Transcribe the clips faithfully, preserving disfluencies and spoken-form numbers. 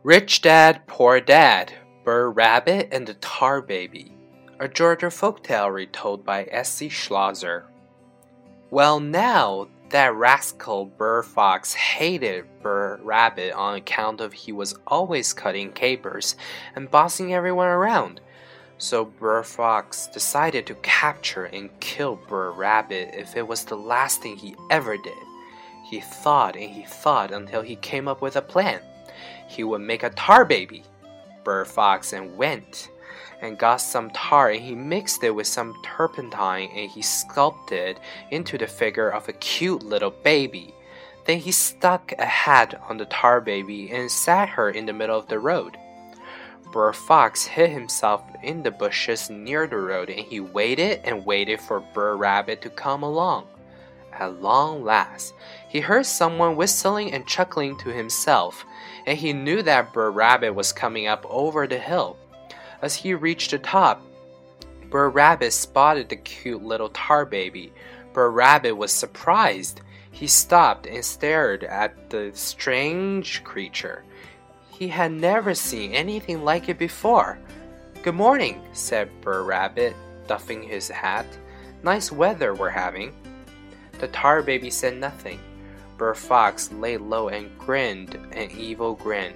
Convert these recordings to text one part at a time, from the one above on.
Rich Dad, Poor Dad, Brer Rabbit and the Tar Baby, a Georgia folktale retold by S C Schlosser. Well, now that rascal Brer Fox hated Brer Rabbit on account of he was always cutting capers and bossing everyone around. So Brer Fox decided to capture and kill Brer Rabbit if it was the last thing he ever did. He thought and he thought until he came up with a plan. He would make a tar baby. Brer Fox and went and got some tar and he mixed it with some turpentine and he sculpted into the figure of a cute little baby. Then he stuck a hat on the tar baby and sat her in the middle of the road. Brer Fox hid himself in the bushes near the road and he waited and waited for Brer Rabbit to come along. At long last, he heard someone whistling and chuckling to himself, and he knew that Brer Rabbit was coming up over the hill. As he reached the top, Brer Rabbit spotted the cute little tar baby. Brer Rabbit was surprised. He stopped and stared at the strange creature. He had never seen anything like it before. "Good morning," said Brer Rabbit, doffing his hat. "Nice weather we're having." The tar baby said nothing. Brer Fox lay low and grinned an evil grin.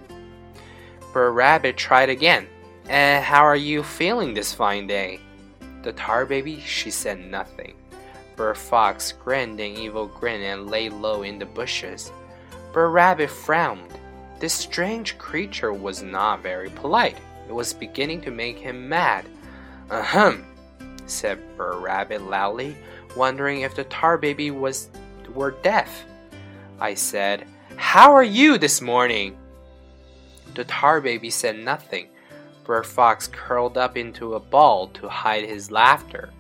Brer Rabbit tried again. "And how are you feeling this fine day?" The tar baby, she said nothing. Brer Fox grinned an evil grin and lay low in the bushes. Brer Rabbit frowned. This strange creature was not very polite. It was beginning to make him mad. "Ahem," said Brer Rabbit loudly, wondering if the tar baby was were deaf. I said, "How are you this morning?" The tar baby said nothing. Brer Fox curled up into a ball to hide his laughter.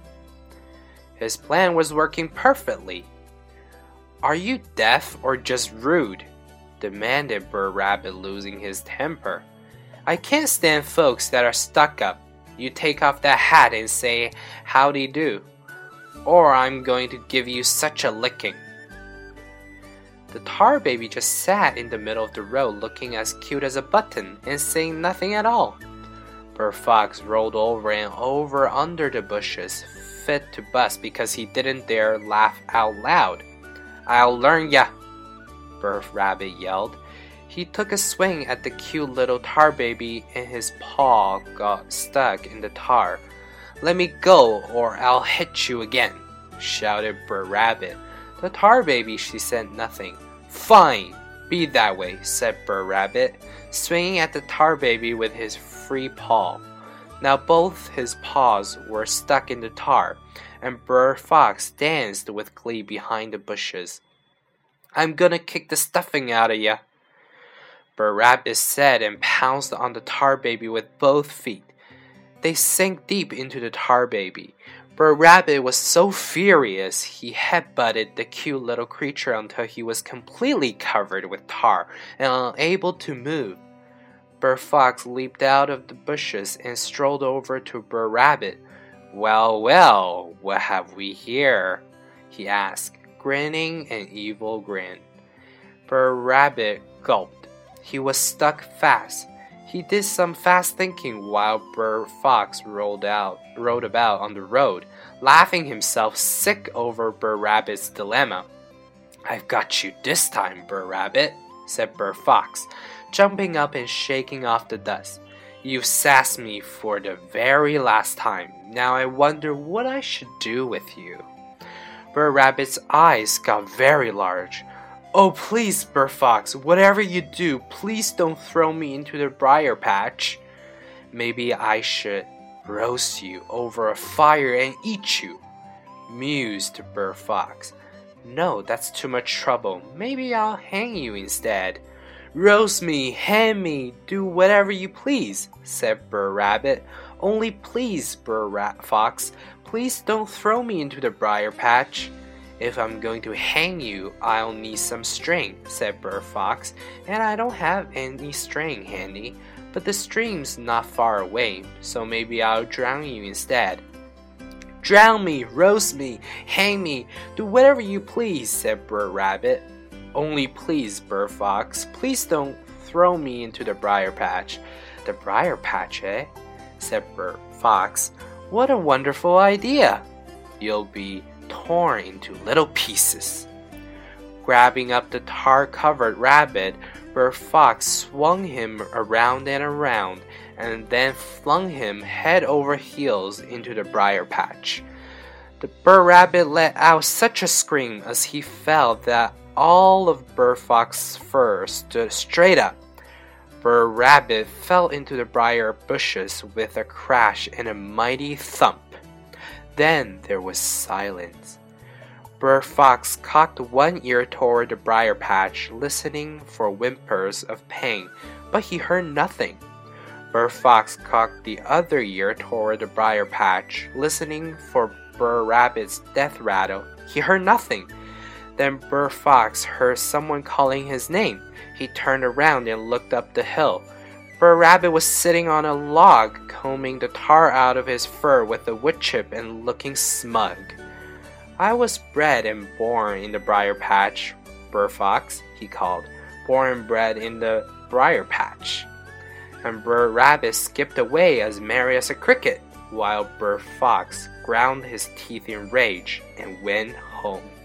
His plan was working perfectly. "Are you deaf or just rude?" demanded Brer Rabbit, losing his temper. "I can't stand folks that are stuck up. You take off that hat and say, 'Howdy do,' or I'm going to give you such a licking." The tar baby just sat in the middle of the road looking as cute as a button and saying nothing at all. Brer Fox rolled over and over under the bushes, fit to bust because he didn't dare laugh out loud. "I'll learn ya," Brer Rabbit yelled. He took a swing at the cute little tar baby and his paw got stuck in the tar. "Let me go or I'll hit you again," shouted Brer Rabbit. The tar baby, she said nothing. "Fine, be that way," said Brer Rabbit, swinging at the tar baby with his free paw. Now both his paws were stuck in the tar, and Brer Fox danced with glee behind the bushes. "I'm gonna kick the stuffing out of ya," Brer Rabbit said and pounced on the tar baby with both feet. They sank deep into the tar baby. Brer Rabbit was so furious he headbutted the cute little creature until he was completely covered with tar and unable to move. Brer Fox leaped out of the bushes and strolled over to Brer Rabbit. "Well, well, what have we here?" he asked, grinning an evil grin. Brer Rabbit gulped. He was stuck fast. He did some fast thinking while Brer Fox rolled out, rode about on the road, laughing himself sick over Brer Rabbit's dilemma. "I've got you this time, Brer Rabbit," said Brer Fox, jumping up and shaking off the dust. "You've sassed me for the very last time. Now I wonder what I should do with you." Brer Rabbit's eyes got very large. "Oh, please, Brer Fox, whatever you do, please don't throw me into the briar patch." "Maybe I should roast you over a fire and eat you," mused Brer Fox. "No, that's too much trouble. Maybe I'll hang you instead." "Roast me, hang me, do whatever you please," said Brer Rabbit. "Only please, Brer Ra- Fox, please don't throw me into the briar patch." "If I'm going to hang you, I'll need some string," said Brer Fox, "and I don't have any string handy, but the stream's not far away, so maybe I'll drown you instead." "Drown me, roast me, hang me, do whatever you please," said Brer Rabbit. "Only please, Brer Fox, please don't throw me into the briar patch. The briar patch, eh? Said Brer Fox. What a wonderful idea! You'll be torn into little pieces. Grabbing up the tar-covered rabbit, Brer Fox swung him around and around, and then flung him head over heels into the briar patch. The Brer Rabbit let out such a scream as he fell that all of Brer Fox's fur stood straight up. Brer Rabbit fell into the briar bushes with a crash and a mighty thump. Then there was silence. Brer Fox cocked one ear toward the briar patch, listening for whimpers of pain, but he heard nothing. Brer Fox cocked the other ear toward the briar patch, listening for Brer Rabbit's death rattle. He heard nothing. Then Brer Fox heard someone calling his name. He turned around and looked up the hill. Brer Rabbit was sitting on a log, combing the tar out of his fur with a wood chip and looking smug. I was bred and born in the briar patch, Brer Fox, he called. Born and bred in the briar patch. And Brer Rabbit skipped away as merry as a cricket, while Brer Fox ground his teeth in rage and went home.